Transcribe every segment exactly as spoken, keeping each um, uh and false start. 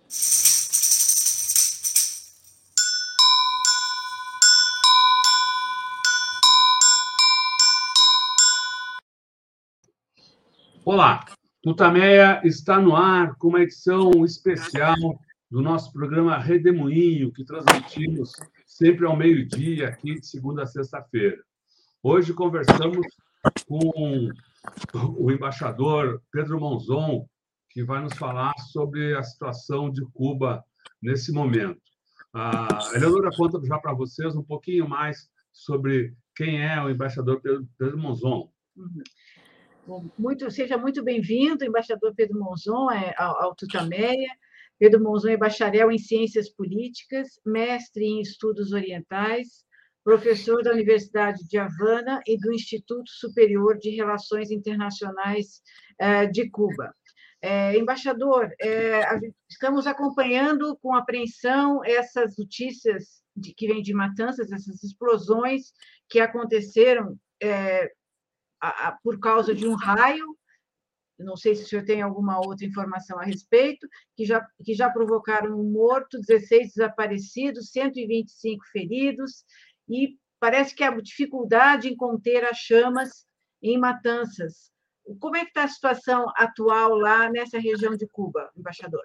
Olá, Tutameia está no ar com uma edição especial do nosso programa Redemoinho, que transmitimos sempre ao meio-dia, aqui de segunda a sexta-feira. Hoje conversamos com o embaixador Pedro Monzon, que vai nos falar sobre a situação de Cuba nesse momento. A Eleonora conta já para vocês um pouquinho mais sobre quem é o embaixador Pedro, Pedro Monzon. Uhum. Bom, muito, seja muito bem-vindo, embaixador Pedro Monzon, é, ao, ao Tutameia. Pedro Monzon é bacharel em Ciências Políticas, mestre em Estudos Orientais, professor da Universidade de Havana e do Instituto Superior de Relações Internacionais eh, de Cuba. É, embaixador, é, estamos acompanhando com apreensão essas notícias de, que vêm de Matanzas, essas explosões que aconteceram é, a, a, por causa de um raio. Não sei se o senhor tem alguma outra informação a respeito, que já, que já provocaram um morto, dezesseis desaparecidos, cento e vinte e cinco feridos, e parece que há dificuldade em conter as chamas em Matanzas. Como é que está a situação atual lá nessa região de Cuba, embaixador?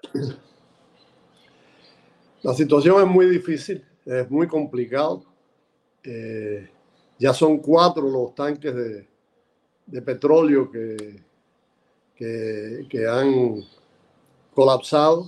A situação é muito difícil, é muito complicado. Eh, já são quatro os tanques de, de petróleo que, que, que han colapsado.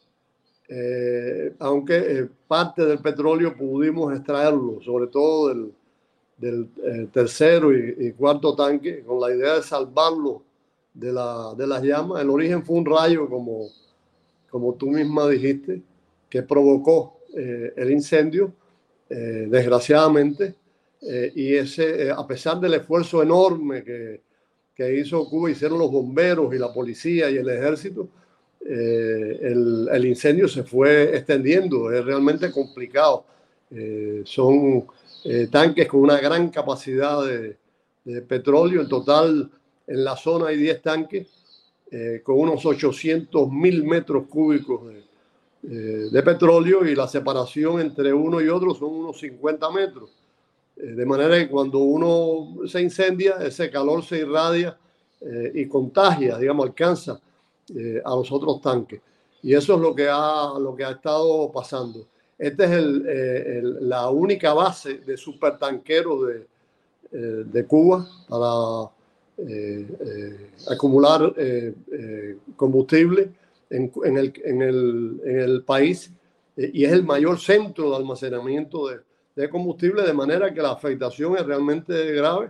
Eh, aunque eh, parte del petróleo pudimos extraerlo, sobre todo del, del eh, tercero y, y cuarto tanque, con la idea de salvarlo de, la, de las llamas. El origen fue un rayo, como, como tú misma dijiste, que provocó eh, el incendio, eh, desgraciadamente, eh, y ese, eh, a pesar del esfuerzo enorme que, que hizo Cuba, hicieron los bomberos y la policía y el ejército, eh, el, el incendio se fue extendiendo. Es realmente complicado. Eh, son eh, tanques con una gran capacidad de, de petróleo. En total, en la zona hay diez tanques eh, con unos ochocientos mil metros cúbicos de, eh, de petróleo, y la separación entre uno y otro son unos cincuenta metros. Eh, de manera que cuando uno se incendia, ese calor se irradia eh, y contagia, digamos, alcanza eh, a los otros tanques. Y eso es lo que ha, lo que ha estado pasando. Esta es el, eh, el, la única base de supertanqueros de, eh, de Cuba para eh, eh, acumular eh, eh, combustible en, en, el, en, el, en el país, eh, y es el mayor centro de almacenamiento de, de combustible, de manera que la afectación es realmente grave,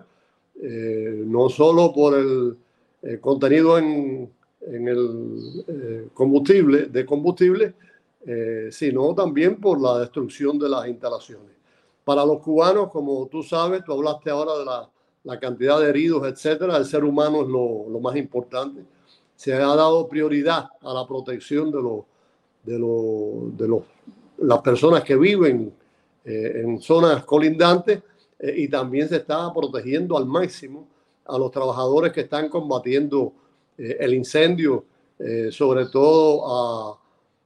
eh, no solo por el eh, contenido en, en el eh, combustible, de combustible, Eh, sino también por la destrucción de las instalaciones. Para los cubanos, como tú sabes, tú hablaste ahora de la, la cantidad de heridos, etcétera. El ser humano es lo, lo más importante. Se ha dado prioridad a la protección de, lo, de, lo, de los, las personas que viven eh, en zonas colindantes, eh, y también se está protegiendo al máximo a los trabajadores que están combatiendo eh, el incendio, eh, sobre todo a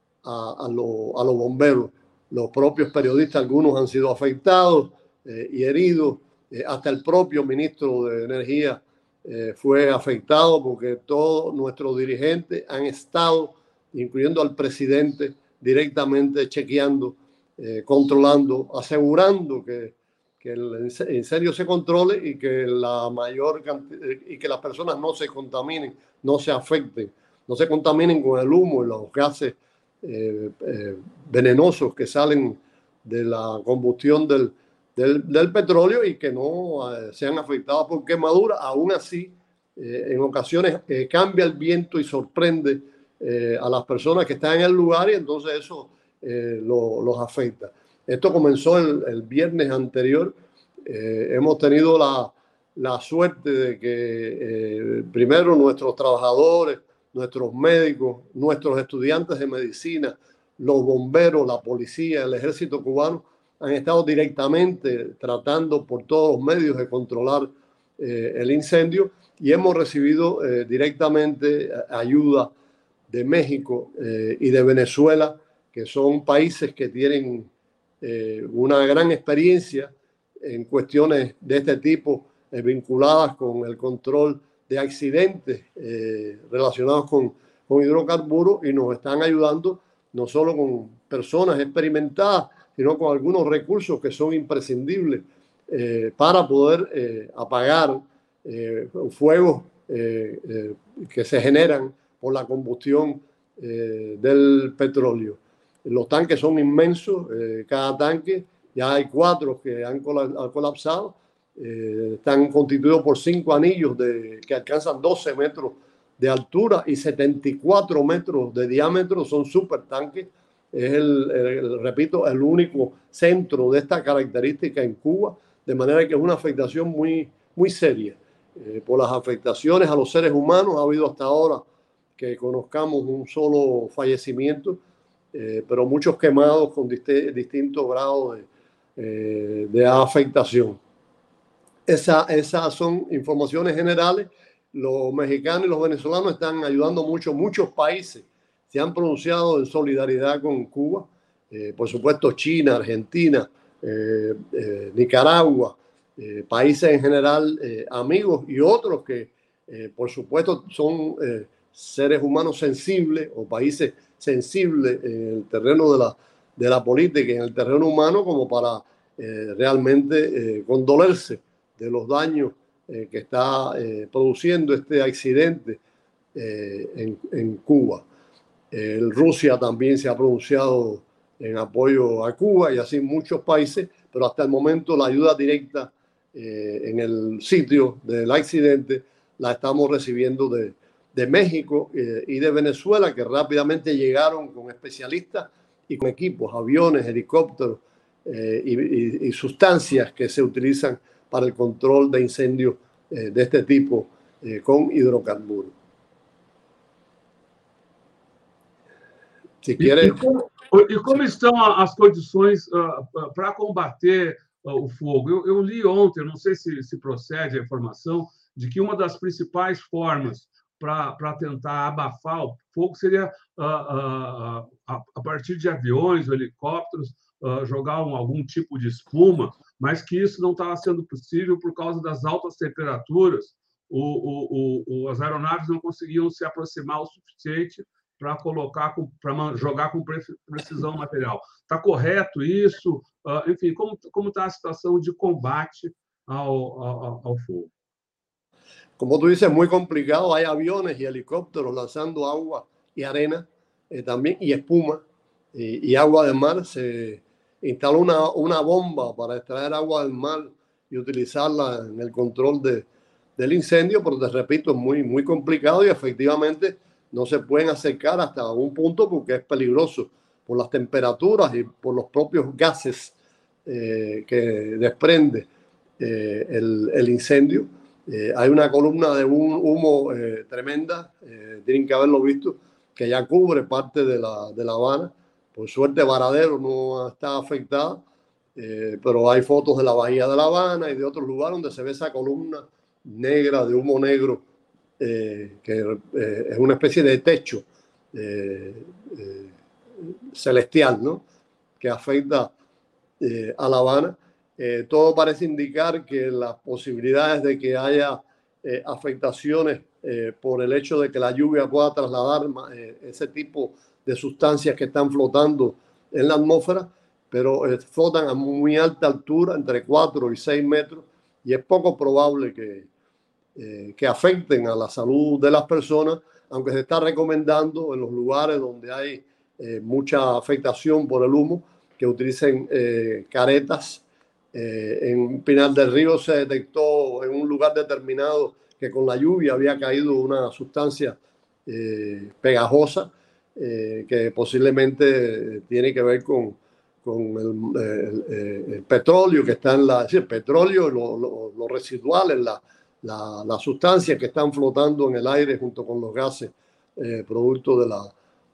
A, a, lo, a los bomberos. Los propios periodistas, algunos han sido afectados eh, y heridos. Eh, hasta el propio ministro de Energía eh, fue afectado, porque todos nuestros dirigentes han estado, incluyendo al presidente, directamente chequeando, eh, controlando, asegurando que, que el incendio se controle y que la mayor cantidad, y que las personas no se contaminen, no se afecten, no se contaminen con el humo y los gases Eh, eh, venenosos que salen de la combustión del, del, del petróleo, y que no eh, sean afectados por quemaduras. Aún así, eh, en ocasiones eh, cambia el viento y sorprende eh, a las personas que están en el lugar, y entonces eso eh, lo, los afecta. Esto comenzó el, el viernes anterior. Eh, hemos tenido la, la suerte de que eh, primero nuestros trabajadores, nuestros médicos, nuestros estudiantes de medicina, los bomberos, la policía, el ejército cubano han estado directamente tratando por todos los medios de controlar eh, el incendio, y hemos recibido eh, directamente ayuda de México eh, y de Venezuela, que son países que tienen eh, una gran experiencia en cuestiones de este tipo eh, vinculadas con el control de accidentes eh, relacionados con, con hidrocarburos, y nos están ayudando no solo con personas experimentadas, sino con algunos recursos que son imprescindibles eh, para poder eh, apagar eh, fuegos eh, eh, que se generan por la combustión eh, del petróleo. Los tanques son inmensos, eh, cada tanque, ya hay cuatro que han colapsado, eh, están constituidos por cinco anillos de, que alcanzan doce metros de altura y setenta y cuatro metros de diámetro, son supertanques. Es el, el, repito, el único centro de esta característica en Cuba, de manera que es una afectación muy, muy seria. Eh, por las afectaciones a los seres humanos, ha habido hasta ahora que conozcamos un solo fallecimiento, eh, pero muchos quemados con dist distintos grados de, eh, de afectación. Esa, esas son informaciones generales. Los mexicanos y los venezolanos están ayudando mucho. Muchos países se han pronunciado en solidaridad con Cuba. Eh, por supuesto, China, Argentina, eh, eh, Nicaragua, eh, países en general eh, amigos, y otros que, eh, por supuesto, son eh, seres humanos sensibles o países sensibles en el terreno de la, de la política y en el terreno humano, como para eh, realmente eh, condolerse de los daños eh, que está eh, produciendo este accidente eh, en, en Cuba. Eh, Rusia también se ha pronunciado en apoyo a Cuba, y así muchos países, pero hasta el momento la ayuda directa eh, en el sitio del accidente la estamos recibiendo de, de México eh, y de Venezuela, que rápidamente llegaron con especialistas y con equipos, aviones, helicópteros eh, y, y, y sustancias que se utilizan para el control de incendios eh, de este tipo eh, con hidrocarburos. Se quiere... E, e, como, e como estão as condições uh, para combater uh, o fogo? Eu, eu li ontem, não sei se, se procede a informação, de que uma das principais formas para tentar abafar o fogo seria, uh, uh, uh, a partir de aviões ou helicópteros, uh, jogar um, algum tipo de espuma, mas que isso não estava sendo possível por causa das altas temperaturas. O, o, o, as aeronaves não conseguiam se aproximar o suficiente para colocar, para jogar com precisão material. Está correto isso? Uh, enfim, como como está a situação de combate ao, ao, ao fogo? Como tú dices, es muy complicado. Hay aviones y helicópteros lanzando agua y arena eh, también, y espuma y, y agua del mar. Se instaló una, una bomba para extraer agua del mar y utilizarla en el control de, del incendio, pero te repito, es muy, muy complicado, y efectivamente no se pueden acercar hasta un punto porque es peligroso por las temperaturas y por los propios gases eh, que desprende eh, el, el incendio. Eh, hay una columna de un humo eh, tremenda, eh, tienen que haberlo visto, que ya cubre parte de la, de La Habana. Por suerte Varadero no está afectada, eh, pero hay fotos de la bahía de La Habana y de otros lugares donde se ve esa columna negra de humo negro, Eh, que eh, es una especie de techo eh, eh, celestial, ¿no?, que afecta eh, a La Habana. Eh, todo parece indicar que las posibilidades de que haya eh, afectaciones eh, por el hecho de que la lluvia pueda trasladar eh, ese tipo de sustancias que están flotando en la atmósfera, pero eh, flotan a muy alta altura, entre cuatro y seis metros, y es poco probable que Eh, que afecten a la salud de las personas, aunque se está recomendando en los lugares donde hay eh, mucha afectación por el humo que utilicen eh, caretas. Eh, en Pinar del Río se detectó en un lugar determinado que con la lluvia había caído una sustancia eh, pegajosa eh, que posiblemente tiene que ver con, con el, el, el petróleo que está en la... Es decir, el petróleo, lo, lo, lo residual en la... Las la sustancias que están flotando en el aire junto con los gases eh, producto de la,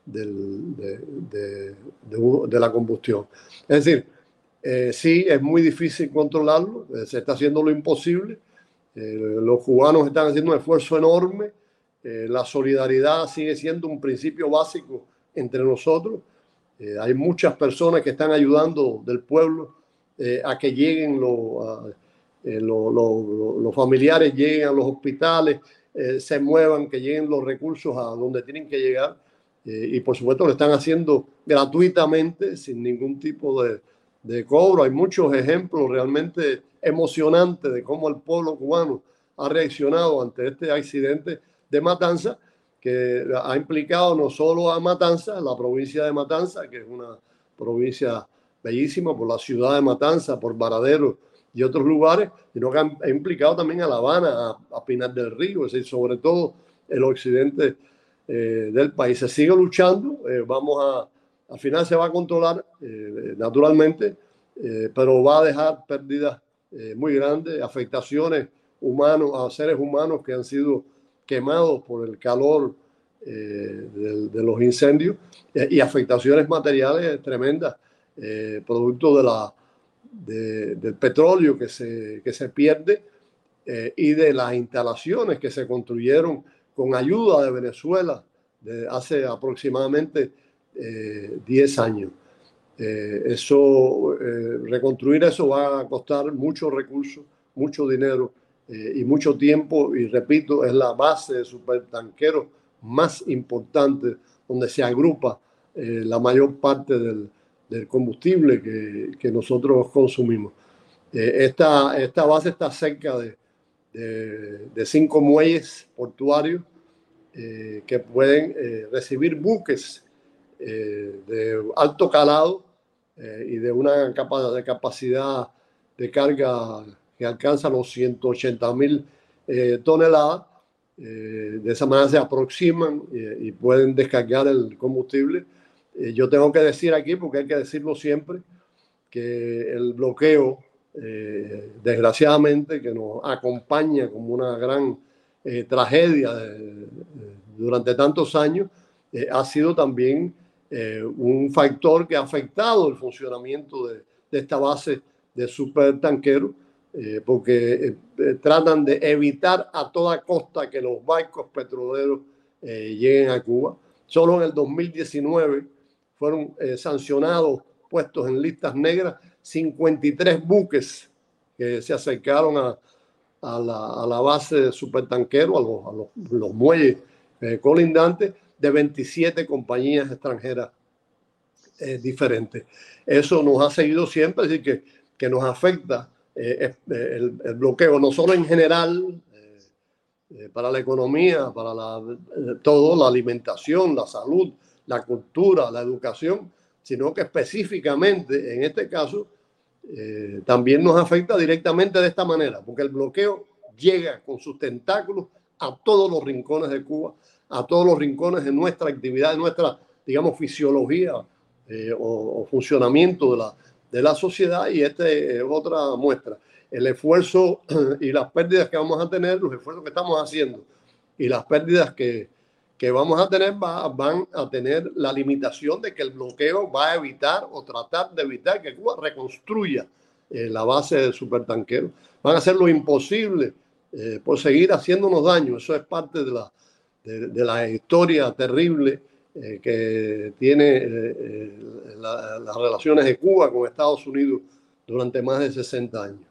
del, de, de, de, de la combustión. Es decir, eh, sí, es muy difícil controlarlo, eh, se está haciendo lo imposible. Eh, los cubanos están haciendo un esfuerzo enorme eh, la solidaridad sigue siendo un principio básico entre nosotros. Eh, hay muchas personas que están ayudando del pueblo eh, a que lleguen los, a, eh, lo, lo, lo, los familiares, lleguen a los hospitales, eh, se muevan, que lleguen los recursos a donde tienen que llegar. Eh, y por supuesto lo están haciendo gratuitamente, sin ningún tipo de, de cobro. Hay muchos ejemplos realmente emocionantes de cómo el pueblo cubano ha reaccionado ante este accidente de Matanza, que ha implicado no solo a Matanza, la provincia de Matanza, que es una provincia bellísima, por la ciudad de Matanza, por Varadero y otros lugares, sino que ha implicado también a La Habana, a, a Pinar del Río, es decir, sobre todo el occidente eh, del país. Se sigue luchando, eh, vamos a, al final se va a controlar eh, naturalmente, eh, pero va a dejar pérdidas eh, muy grandes, afectaciones humanos, a seres humanos que han sido quemados por el calor eh, de, de los incendios eh, y afectaciones materiales tremendas, eh, producto de la, de, del petróleo que se, que se pierde eh, y de las instalaciones que se construyeron con ayuda de Venezuela de hace aproximadamente eh, diez años. Eh, eso, eh, reconstruir eso va a costar muchos recursos, mucho dinero eh, y mucho tiempo, y repito, es la base de supertanqueros más importante donde se agrupa eh, la mayor parte del, del combustible que, que nosotros consumimos. Eh, esta, esta base está cerca de, de, de cinco muelles portuarios eh, que pueden eh, recibir buques eh, de alto calado eh, y de una capa, de capacidad de carga que alcanza los ciento ochenta mil eh, toneladas. Eh, de esa manera se aproximan eh, y pueden descargar el combustible. Eh, yo tengo que decir aquí, porque hay que decirlo siempre, que el bloqueo, eh, desgraciadamente, que nos acompaña como una gran eh, tragedia de, de, durante tantos años, eh, ha sido también eh, un factor que ha afectado el funcionamiento de, de esta base de supertanqueros, eh, porque eh, tratan de evitar a toda costa que los barcos petroleros eh, lleguen a Cuba. Solo en el dos mil diecinueve fueron eh, sancionados, puestos en listas negras, cincuenta y tres buques que se acercaron a, a, la, a la base de supertanqueros, a los, a los, los muelles eh, colindantes, de veintisiete compañías extranjeras eh, diferentes. Eso nos ha seguido siempre, así que, que nos afecta eh, el, el bloqueo, no solo en general, eh, eh, para la economía, para la, eh, todo, la alimentación, la salud, la cultura, la educación, sino que específicamente en este caso eh, también nos afecta directamente de esta manera, porque el bloqueo llega con sus tentáculos a todos los rincones de Cuba, a todos los rincones de nuestra actividad, de nuestra, digamos, fisiología eh, o, o funcionamiento de la, de la sociedad, y esta es otra muestra. El esfuerzo y las pérdidas que vamos a tener, los esfuerzos que estamos haciendo y las pérdidas que, que vamos a tener va, van a tener la limitación de que el bloqueo va a evitar o tratar de evitar que Cuba reconstruya eh, la base del supertanquero. Van a hacer lo imposible eh, por seguir haciéndonos daño. Eso es parte de la, de, de la historia terrible eh, que tiene eh, la, las relaciones de Cuba con Estados Unidos durante más de sessenta anos.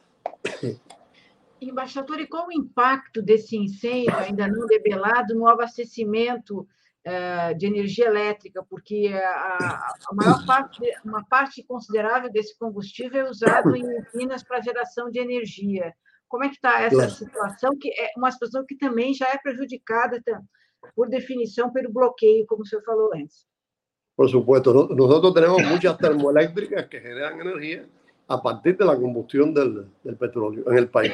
Embaixador, e qual o impacto desse incêndio ainda não debelado no abastecimento uh, de energia elétrica? Porque a, a maior parte, uma parte considerável desse combustível é usado em usinas para geração de energia. Como é que está essa claro. situação, que é uma situação que também já é prejudicada, por definição, pelo bloqueio, como o senhor falou antes? Por supuesto, nosotros tenemos muchas termoeléctricas que generan energía a partir de la combustión del, del petróleo en el país.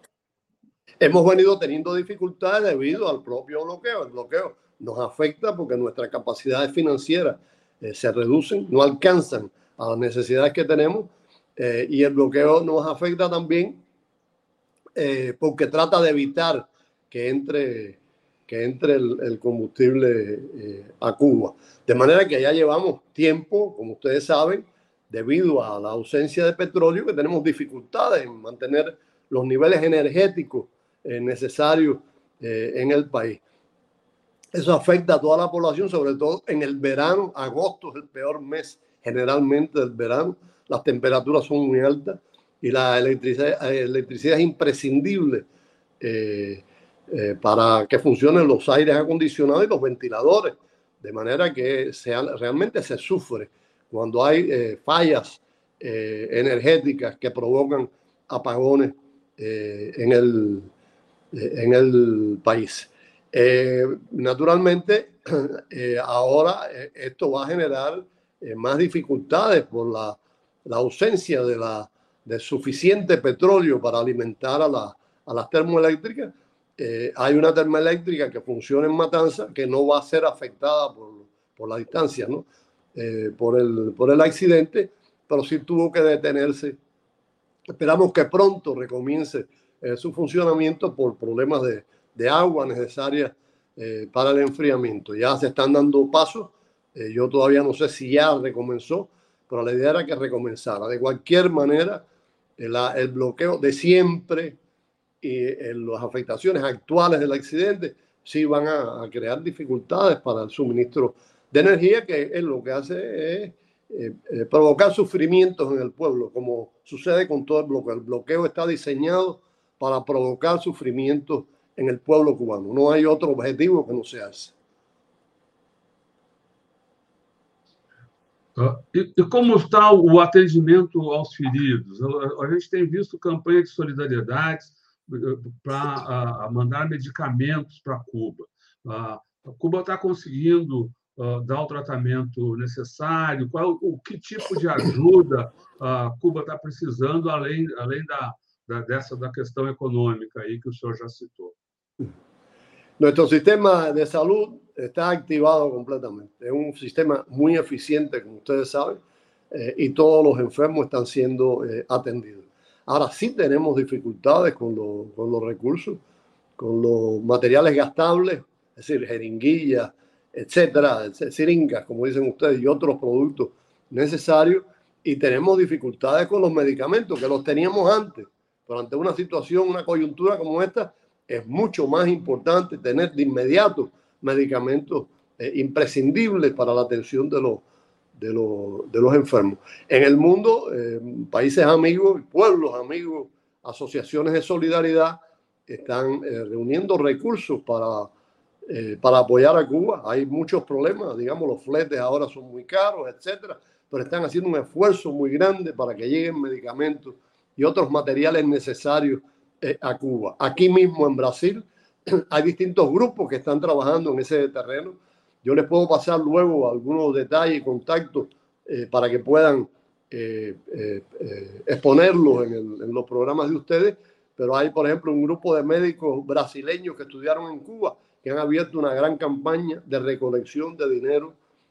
Hemos venido teniendo dificultades debido al propio bloqueo. El bloqueo nos afecta porque nuestras capacidades financieras eh, se reducen, no alcanzan a las necesidades que tenemos, eh, y el bloqueo nos afecta también eh, porque trata de evitar que entre, que entre el, el combustible eh, a Cuba. De manera que ya llevamos tiempo, como ustedes saben, debido a la ausencia de petróleo, que tenemos dificultades en mantener los niveles energéticos eh, necesarios eh, en el país. Eso afecta a toda la población, sobre todo en el verano. Agosto es el peor mes generalmente del verano. Las temperaturas son muy altas y la electricidad, electricidad es imprescindible eh, eh, para que funcionen los aires acondicionados y los ventiladores, de manera que sea, realmente se sufre cuando hay eh, fallas eh, energéticas que provocan apagones eh, en, el, eh, en el país. Eh, naturalmente, eh, ahora eh, esto va a generar eh, más dificultades por la, la ausencia de, la, de suficiente petróleo para alimentar a, la, a las termoeléctricas. Eh, hay una termoeléctrica que funciona en Matanza que no va a ser afectada por, por la distancia, ¿no? Eh, por, el, por el accidente, pero sí tuvo que detenerse. Esperamos que pronto recomience eh, su funcionamiento por problemas de, de agua necesaria eh, para el enfriamiento. Ya se están dando pasos. Eh, yo todavía no sé si ya recomenzó, pero la idea era que recomenzara. De cualquier manera, el, el bloqueo de siempre y eh, las afectaciones actuales del accidente sí van a, a crear dificultades para el suministro de energía, que es lo que hace es eh, eh, provocar sufrimientos en el pueblo, como sucede con todo el bloqueo. El bloqueo está diseñado para provocar sufrimientos en el pueblo cubano. No hay otro objetivo que no sea esse. E, e como está o atendimento aos feridos? A gente tem visto campanha de solidariedade para mandar medicamentos para Cuba. A Cuba está conseguindo uh, dar o tratamento necessário? Qual, o que tipo de ajuda a uh, Cuba está precisando, além, além da, da, dessa da questão econômica aí que o senhor já citou? Nuestro sistema de salud está activado completamente. Es un sistema muy eficiente, como ustedes saben, eh, y todos los enfermos están siendo eh, atendidos. Ahora sí tenemos dificultades con, lo, con los recursos, con los materiales gastables, es decir, jeringuillas, etcétera, siringas, como dicen ustedes, y otros productos necesarios. Y tenemos dificultades con los medicamentos, que los teníamos antes. Pero ante una situación, una coyuntura como esta, es mucho más importante tener de inmediato medicamentos eh, imprescindibles para la atención de los, de los, de los enfermos. En el mundo, eh, países amigos, pueblos amigos, asociaciones de solidaridad están eh, reuniendo recursos para, eh, para apoyar a Cuba. Hay muchos problemas, digamos, los fletes ahora son muy caros, etcétera, pero están haciendo un esfuerzo muy grande para que lleguen medicamentos y otros materiales necesarios eh, a Cuba. Aquí mismo en Brasil hay distintos grupos que están trabajando en ese terreno. Yo les puedo pasar luego algunos detalles y contactos eh, para que puedan eh, eh, eh, exponerlos en, el, en los programas de ustedes, pero hay, por ejemplo, un grupo de médicos brasileños que estudiaron en Cuba que han abierto una gran campaña de recolección de dinero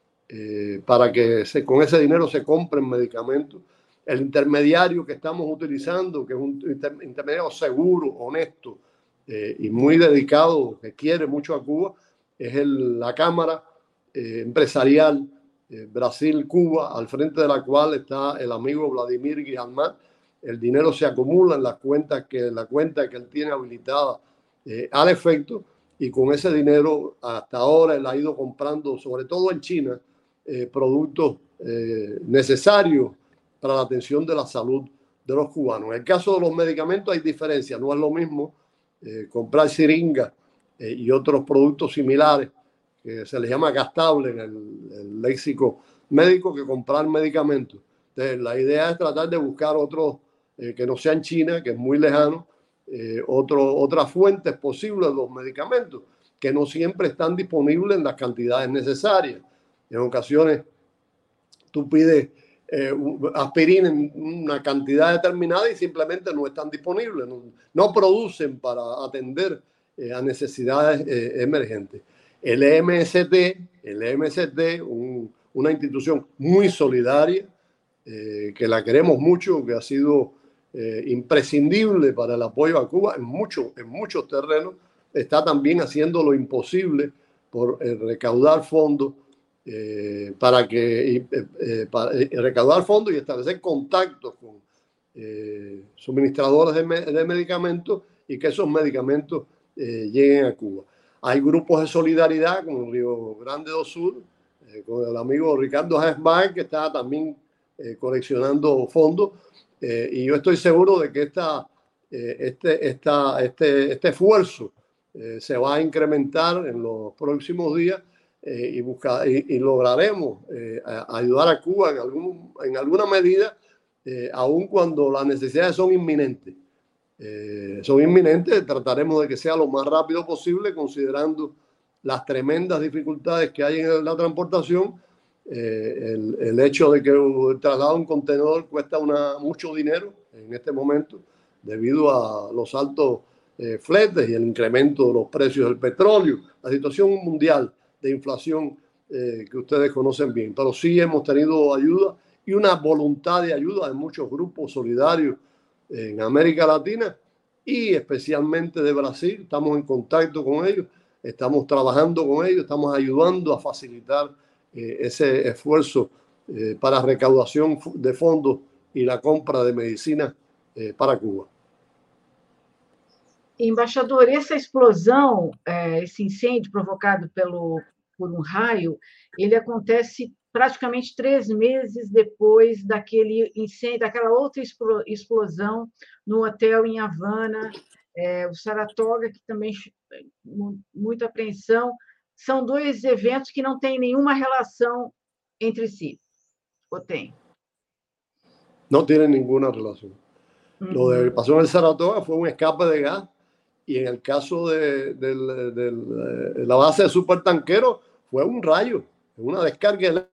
eh, para que se, con ese dinero se compren medicamentos. El intermediario que estamos utilizando, que es un inter, intermediario seguro, honesto eh, y muy dedicado, que quiere mucho a Cuba, es el, la Cámara eh, Empresarial eh, Brasil-Cuba, al frente de la cual está el amigo Vladimir Guijalmán. El dinero se acumula en las cuentas que, la cuenta que él tiene habilitada eh, al efecto, y con ese dinero hasta ahora él ha ido comprando, sobre todo en China, eh, productos eh, necesarios para la atención de la salud de los cubanos. En el caso de los medicamentos hay diferencia, no es lo mismo eh, comprar siringas eh, y otros productos similares, que se les llama gastable en el, el léxico médico, que comprar medicamentos. Entonces, la idea es tratar de buscar otros eh, que no sean China, que es muy lejano, eh, otro, otras fuentes posibles de los medicamentos, que no siempre están disponibles en las cantidades necesarias. En ocasiones tú pides Eh, aspirina en una cantidad determinada y simplemente no están disponibles, no, no producen para atender eh, a necesidades eh, emergentes. El E M S T, el E M S T, un, una institución muy solidaria, eh, que la queremos mucho, que ha sido eh, imprescindible para el apoyo a Cuba en, mucho, en muchos terrenos, está también haciendo lo imposible por eh, recaudar fondos Eh, para que eh, eh, para recaudar fondos y establecer contactos con eh, suministradores de, me, de medicamentos y que esos medicamentos eh, lleguen a Cuba. hay grupos de solidaridad como Río Grande do Sur, eh, con el amigo Ricardo Hesbaer, que está también eh, coleccionando fondos. Eh, y yo estoy seguro de que esta, eh, este, esta, este, este esfuerzo eh, se va a incrementar en los próximos días eh, y, buscar, y, y lograremos eh, a, ayudar a Cuba en, algún, en alguna medida, eh, aun cuando las necesidades son inminentes. Eh, son inminentes, trataremos de que sea lo más rápido posible, considerando las tremendas dificultades que hay en la transportación. Eh, el, el hecho de que el traslado de un contenedor cuesta una, mucho dinero en este momento debido a los altos eh, fletes y el incremento de los precios del petróleo, la situación mundial de inflación eh, que ustedes conocen bien. Pero sí hemos tenido ayuda y una voluntad de ayuda de muchos grupos solidarios en América Latina y especialmente de Brasil. Estamos en contacto con ellos, estamos trabajando con ellos, estamos ayudando a facilitar eh, ese esfuerzo eh, para recaudación de fondos y la compra de medicina eh, para Cuba. Embaixador, essa explosão, esse incêndio provocado pelo, por um raio, ele acontece praticamente três meses depois daquele incêndio, daquela outra explosão no hotel em Havana, é, o Saratoga, que também muita apreensão. São dois eventos que não têm nenhuma relação entre si, ou tem? No tienen ninguna relación. Uh-huh. Lo que pasó en el Saratoga fue un escape de gas y en el caso de, de, de, de, de la base de supertanquero fue un rayo, una descarga eléctrica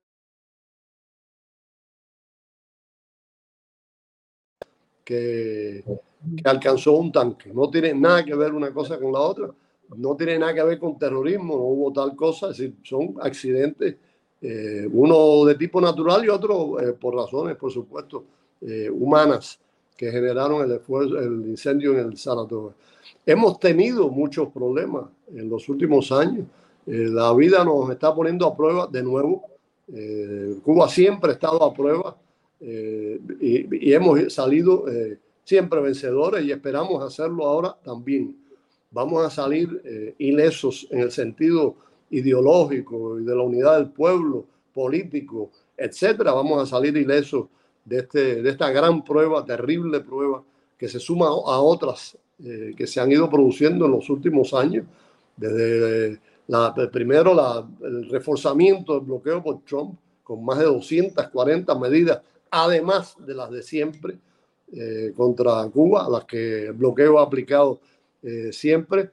que, que alcanzó un tanque. No tiene nada que ver una cosa con la otra, no tiene nada que ver con terrorismo, no hubo tal cosa, es decir, son accidentes, eh, uno de tipo natural y otro eh, por razones, por supuesto, eh, humanas que generaron el, esfuerzo, el incendio en el Saratoga. Hemos tenido muchos problemas en los últimos años. Eh, la vida nos está poniendo a prueba de nuevo. Eh, Cuba siempre ha estado a prueba eh, y, y hemos salido eh, siempre vencedores y esperamos hacerlo ahora también. Vamos a salir eh, ilesos en el sentido ideológico y de la unidad del pueblo, político, etcétera. Vamos a salir ilesos de, este, de esta gran prueba, terrible prueba, que se suma a otras eh, que se han ido produciendo en los últimos años. Desde la, primero la, el reforzamiento del bloqueo por Trump, con más de doscientas cuarenta medidas, además de las de siempre, eh, contra Cuba, las que el bloqueo ha aplicado eh, siempre.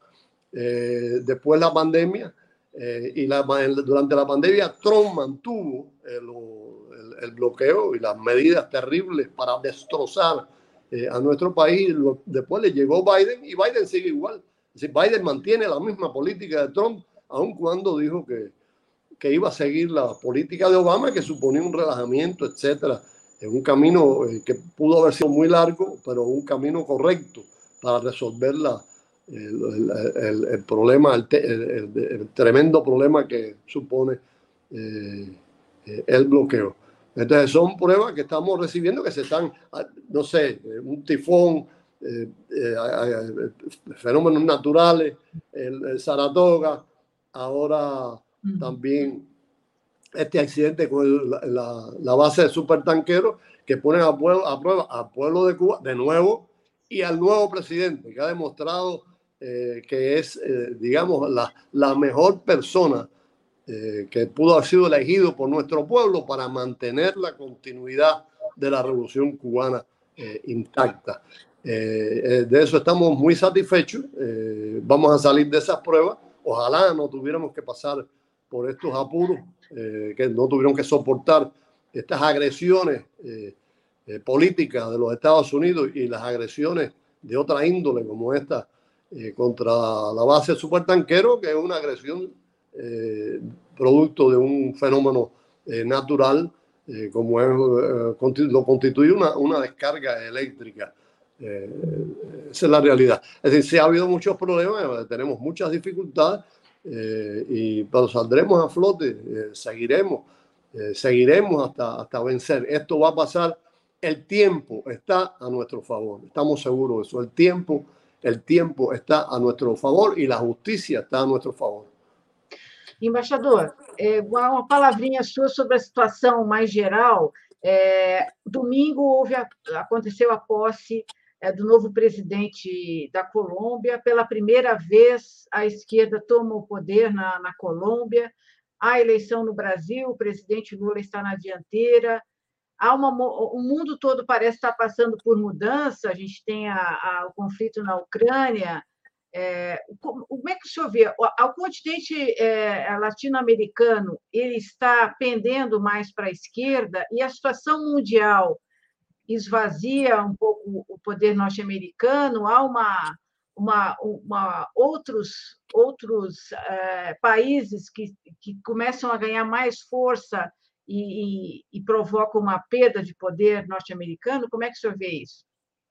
Eh, después la pandemia, eh, y la, durante la pandemia Trump mantuvo el, el, el bloqueo y las medidas terribles para destrozar eh, a nuestro país. Lo, después le llegó Biden y Biden sigue igual. Es decir, Biden mantiene la misma política de Trump, aun cuando dijo que, que iba a seguir la política de Obama, que suponía un relajamiento, etcétera, en un camino eh, que pudo haber sido muy largo, pero un camino correcto para resolver la, el, el, el, el problema, el, el, el tremendo problema que supone eh, el bloqueo. Entonces son pruebas que estamos recibiendo que se están, no sé, un tifón, eh, eh, fenómenos naturales, el, el Saratoga, ahora uh-huh. también este accidente con el, la, la base de supertanqueros que ponen a, pueblo, a prueba al pueblo de Cuba de nuevo y al nuevo presidente que ha demostrado eh, que es, eh, digamos, la, la mejor persona eh, que pudo haber sido elegido por nuestro pueblo para mantener la continuidad de la revolución cubana eh, intacta. Eh, eh, de eso estamos muy satisfechos. Eh, vamos a salir de esas pruebas. Ojalá no tuviéramos que pasar por estos apuros, eh, que no tuvieron que soportar estas agresiones eh, eh, políticas de los Estados Unidos y las agresiones de otra índole como esta eh, contra la base supertanquero, que es una agresión eh, producto de un fenómeno eh, natural eh, como es, eh, constitu lo constituye una, una descarga eléctrica. Eh, esa es la realidad. Es decir, sí ha habido muchos problemas, tenemos muchas dificultades, eh, y, pero saldremos a flote, eh, seguiremos, eh, seguiremos hasta, hasta vencer. Esto va a pasar, el tiempo está a nuestro favor, estamos seguros de eso. El tiempo el tiempo está a nuestro favor y la justicia está a nuestro favor. Embaixador, é, uma palavrinha sua sobre a situação mais geral. É, domingo houve a, aconteceu a posse é, do novo presidente da Colômbia. Pela primeira vez, a esquerda toma o poder na, na Colômbia. Há eleição no Brasil, o presidente Lula está na dianteira. Há uma, o mundo todo parece estar passando por mudança. A gente tem a, a, o conflito na Ucrânia. É, como é que o senhor vê? O continente é, latino-americano ele está pendendo mais para a esquerda e a situação mundial esvazia um pouco o poder norte-americano. Há uma, uma, uma, outros, outros é, países que, que começam a ganhar mais força e, e, e provocam uma perda de poder norte-americano. Como é que o senhor vê isso?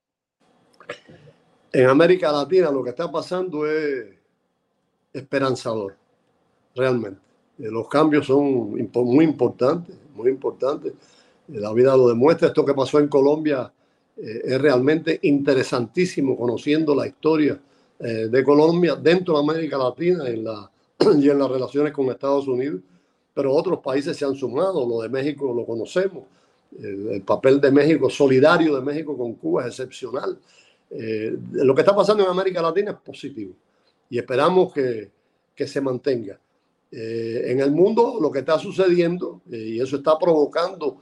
En América Latina lo que está pasando es esperanzador, realmente. Los cambios son muy importantes, muy importantes. La vida lo demuestra. Esto que pasó en Colombia eh, es realmente interesantísimo, conociendo la historia eh, de Colombia dentro de América Latina en la, y en las relaciones con Estados Unidos. Pero otros países se han sumado. Lo de México lo conocemos. El, el papel de México, solidario de México con Cuba, es excepcional. Eh, lo que está pasando en América Latina es positivo y esperamos que, que se mantenga. Eh, en el mundo lo que está sucediendo, eh, y eso está provocando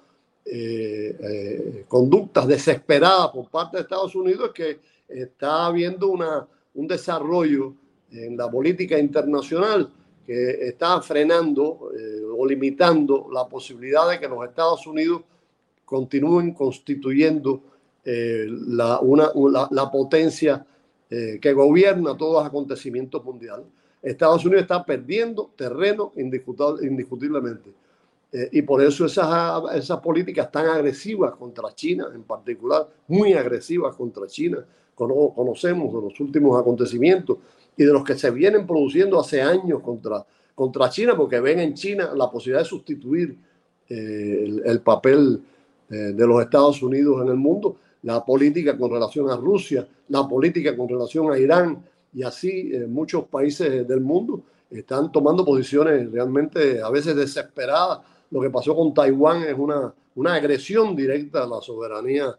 eh, eh, conductas desesperadas por parte de Estados Unidos, es que está habiendo una, un desarrollo en la política internacional que está frenando eh, o limitando la posibilidad de que los Estados Unidos continúen constituyendo Eh, la, una, la, la potencia eh, que gobierna todos los acontecimientos mundiales. Estados Unidos está perdiendo terreno indiscutiblemente. Eh, y por eso esas, esas políticas tan agresivas contra China, en particular, muy agresivas contra China, cono, conocemos de los últimos acontecimientos y de los que se vienen produciendo hace años contra, contra China, porque ven en China la posibilidad de sustituir eh, el, el papel eh, de los Estados Unidos en el mundo. La política con relación a Rusia, la política con relación a Irán, y así eh, muchos países del mundo están tomando posiciones realmente a veces desesperadas. Lo que pasó con Taiwán es una, una agresión directa a la soberanía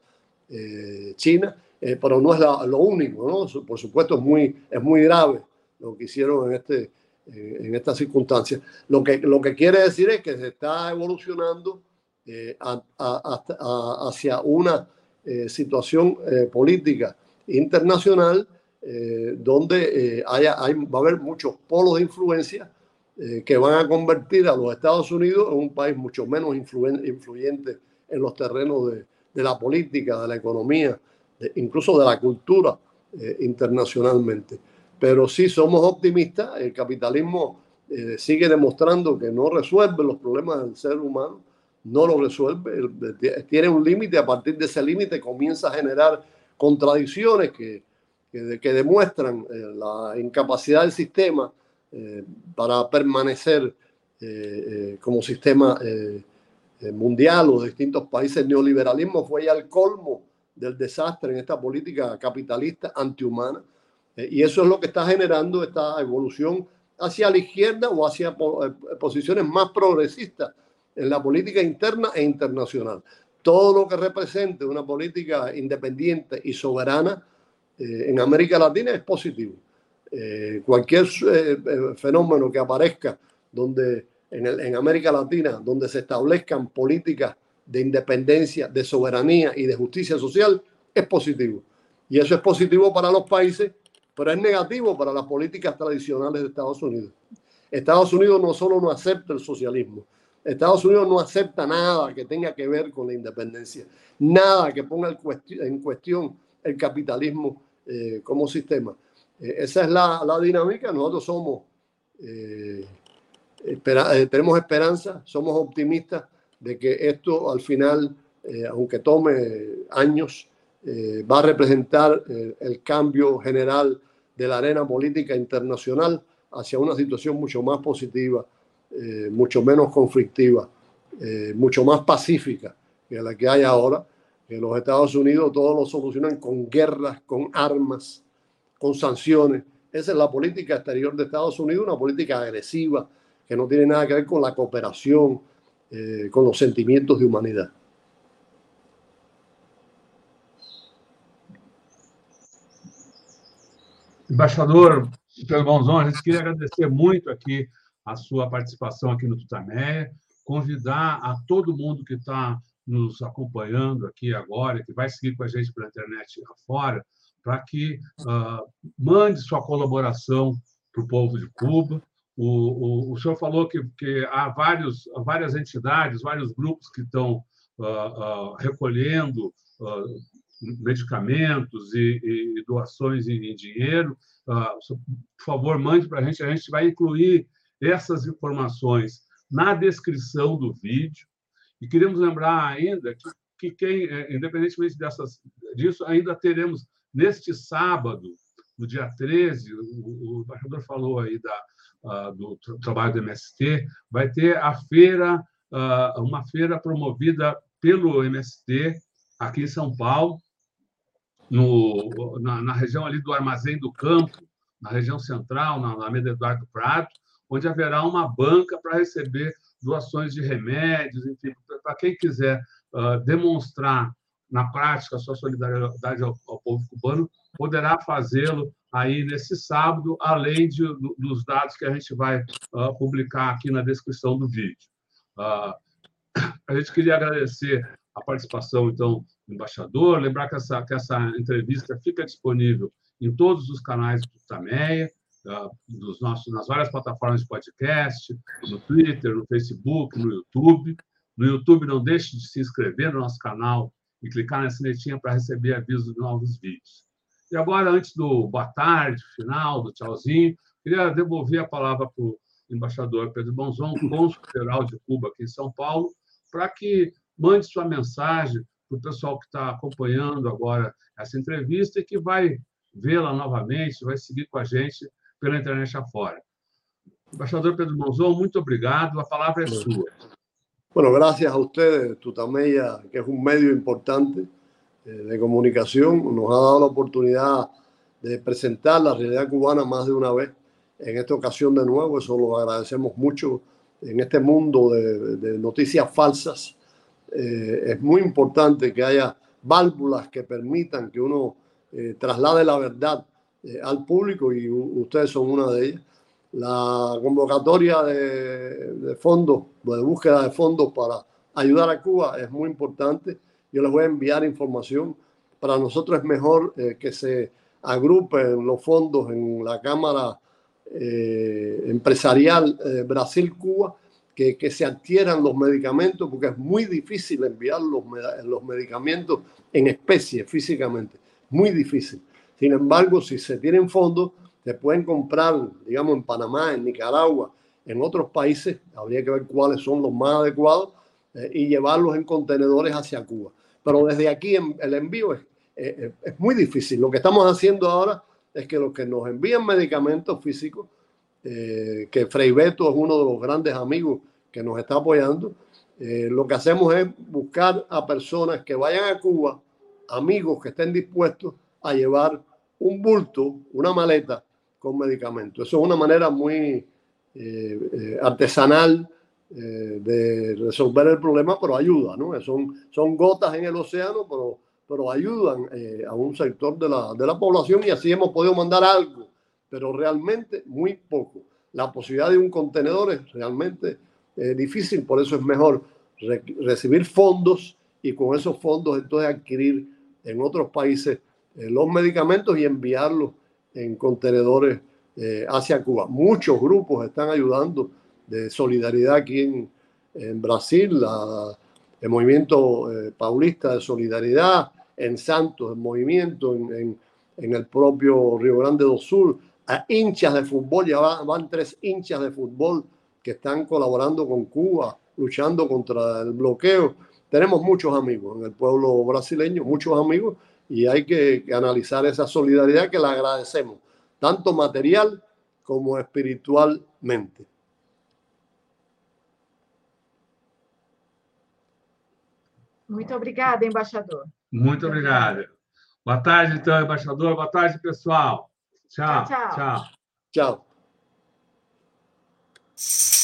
eh, china, eh, pero no es la, lo único, ¿no? Por supuesto es muy, es muy grave lo que hicieron en, este, eh, en esta circunstancia. Lo que, lo que quiere decir es que se está evolucionando eh, a, a, a, hacia una Eh, situación eh, política internacional eh, donde eh, haya, hay, va a haber muchos polos de influencia eh, que van a convertir a los Estados Unidos en un país mucho menos influyente en los terrenos de, de la política, de la economía, de, incluso de la cultura eh, internacionalmente. Pero sí somos optimistas. El capitalismo eh, sigue demostrando que no resuelve los problemas del ser humano, no lo resuelve, tiene un límite. A partir de ese límite comienza a generar contradicciones que, que, que demuestran eh, la incapacidad del sistema eh, para permanecer eh, eh, como sistema eh, mundial o de distintos países. El neoliberalismo fue ya el colmo del desastre en esta política capitalista antihumana, eh, y eso es lo que está generando esta evolución hacia la izquierda o hacia po posiciones más progresistas en la política interna e internacional. Todo lo que represente una política independiente y soberana eh, en América Latina es positivo. Eh, cualquier eh, fenómeno que aparezca donde, en, el, en América Latina, donde se establezcan políticas de independencia, de soberanía y de justicia social, es positivo. Y eso es positivo para los países, pero es negativo para las políticas tradicionales de Estados Unidos. Estados Unidos no solo no acepta el socialismo, Estados Unidos no acepta nada que tenga que ver con la independencia, nada que ponga en cuestión el capitalismo eh, como sistema. Eh, esa es la, la dinámica. Nosotros somos, eh, espera, eh, tenemos esperanza, somos optimistas de que esto al final, eh, aunque tome años, eh, va a representar eh, el cambio general de la arena política internacional hacia una situación mucho más positiva, Eh, mucho menos conflictiva, eh, mucho más pacífica que la que hay ahora. Que los Estados Unidos todos lo solucionan con guerras, con armas, con sanciones. Esa es la política exterior de Estados Unidos, una política agresiva que no tiene nada que ver con la cooperación, eh, con los sentimientos de humanidad. Embaixador Pedro Monzon, a gente queria agradecer muito aqui a sua participação aqui no Tutameia, convidar a todo mundo que está nos acompanhando aqui agora, que vai seguir com a gente pela internet afora, para que uh, mande sua colaboração para o povo de Cuba. O, o, o senhor falou que, que há vários, várias entidades, vários grupos que estão uh, uh, recolhendo uh, medicamentos e, e doações em, em dinheiro. Uh, por favor, mande para a gente. A gente vai incluir essas informações na descrição do vídeo. E queremos lembrar ainda que, que quem, independentemente dessas, disso, ainda teremos, neste sábado, no dia treze, o, o embaixador falou aí da, uh, do trabalho do M S T, vai ter a feira, uh, uma feira promovida pelo M S T aqui em São Paulo, no, na, na região ali do Armazém do Campo, na região central, na Alameda Eduardo Prado, onde haverá uma banca para receber doações de remédios, enfim, para quem quiser uh, demonstrar na prática a sua solidariedade ao, ao povo cubano, poderá fazê-lo aí nesse sábado, além de, do, dos dados que a gente vai uh, publicar aqui na descrição do vídeo. Uh, a gente queria agradecer a participação, então, do embaixador, lembrar que essa, que essa entrevista fica disponível em todos os canais do Tutameia, uh, dos nossos, nas várias plataformas de podcast, no Twitter, no Facebook, no YouTube. No YouTube, não deixe de se inscrever no nosso canal e clicar na sinetinha para receber avisos de novos vídeos. E agora, antes do boa tarde, final, do tchauzinho, queria devolver a palavra para o embaixador Pedro Monzon, cônsul-geral de Cuba aqui em São Paulo, para que mande sua mensagem para o pessoal que está acompanhando agora essa entrevista e que vai vê-la novamente, vai seguir com a gente pela internet afora. Embaixador Pedro Monzon, muito obrigado, a palavra é sua. Bueno, gracias a ustedes, Tutameia, que es un medio importante eh, de comunicación, nos ha dado la oportunidad de presentar la realidad cubana más de una vez. En esta ocasión de nuevo, eso lo agradecemos mucho. En este mundo de, de noticias falsas, eh, es muy importante que haya válvulas que permitan que uno eh, traslade la verdad eh, al público, y ustedes son una de ellas. La convocatoria de, de fondos, de búsqueda de fondos para ayudar a Cuba es muy importante. Yo les voy a enviar información. Para nosotros es mejor eh, que se agrupen los fondos en la Cámara eh, Empresarial eh, Brasil-Cuba, que, que se adquieran los medicamentos, porque es muy difícil enviar los, los medicamentos en especie físicamente. Muy difícil. Sin embargo, si se tienen fondos, se pueden comprar, digamos, en Panamá, en Nicaragua, en otros países, habría que ver cuáles son los más adecuados, eh, y llevarlos en contenedores hacia Cuba. Pero desde aquí en, el envío es, eh, es muy difícil. Lo que estamos haciendo ahora es que los que nos envían medicamentos físicos, eh, que Frei Beto es uno de los grandes amigos que nos está apoyando, eh, lo que hacemos es buscar a personas que vayan a Cuba, amigos que estén dispuestos a llevar un bulto, una maleta con medicamentos. Eso es una manera muy eh, eh, artesanal eh, de resolver el problema, pero ayuda, ¿no? Son, son gotas en el océano, pero, pero ayudan eh, a un sector de la, de la población, y así hemos podido mandar algo, pero realmente muy poco. La posibilidad de un contenedor es realmente eh, difícil, por eso es mejor re recibir fondos y con esos fondos entonces adquirir en otros países eh, los medicamentos y enviarlos en contenedores eh, hacia Cuba. Muchos grupos están ayudando de solidaridad aquí en, en Brasil, la, el movimiento eh, paulista de solidaridad, en Santos, el movimiento, en, en, en el propio Río Grande do Sul, a hinchas de fútbol, ya van, van tres hinchas de fútbol que están colaborando con Cuba, luchando contra el bloqueo. Tenemos muchos amigos en el pueblo brasileño, muchos amigos, y hay que, que analizar esa solidaridad que la agradecemos, tanto material como espiritualmente. Muito obrigada, embaixador. Muito obrigado. Boa tarde, então, embaixador. Boa tarde, pessoal. Tchau, Tchau, tchau. tchau. Chao.